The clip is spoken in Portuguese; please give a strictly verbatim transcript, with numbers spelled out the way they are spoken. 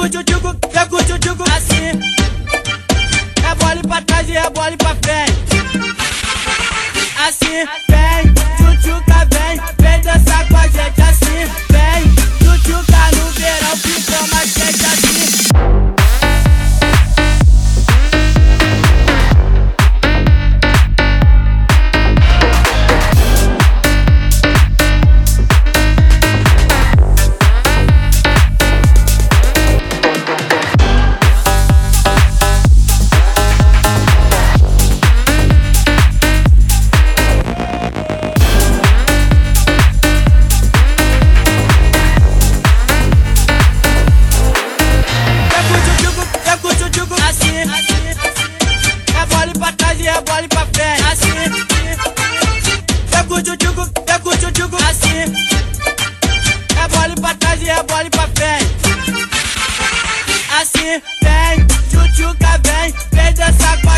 com o tchutchuco, vem com o tchutchuco assim. Rebole pra trás e rebole pra frente. Assim, vem, tchutchuca, vem, vem dançar com a gente assim. Vem, tchutchuca no verão, ficou mais quente assim. Rebole pra trás e rebole pra frente. Assim, vem com o tchutchuco, vem com o tchutchuco assim. Rebole pra trás e rebole pra frente. Assim, vem, tchutchuca, vem, vem dançar com